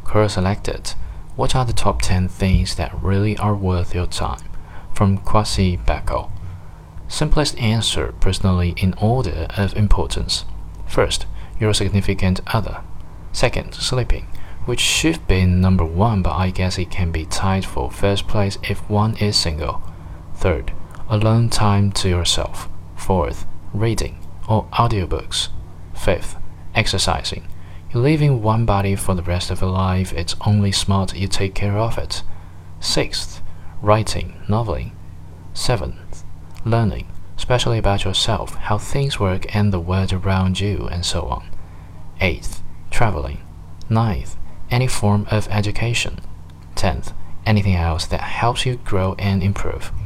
Quora selected, what are the top 10 things that really are worth your time? From Kwasi Bako. Simplest answer personally in order of importance. First, your significant other. Second, sleeping, which should be number one, but I guess it can be tied for first place if one is single. Third, alone time to yourself. Fourth, reading or audiobooks. Fifth, exercising. You live in one body for the rest of your life, it's only smart you take care of it. Sixth, writing, noveling. Seventh, learning, especially about yourself, how things work and the world around you, and so on. Eighth, traveling. Ninth, any form of education. 10th, anything else that helps you grow and improve.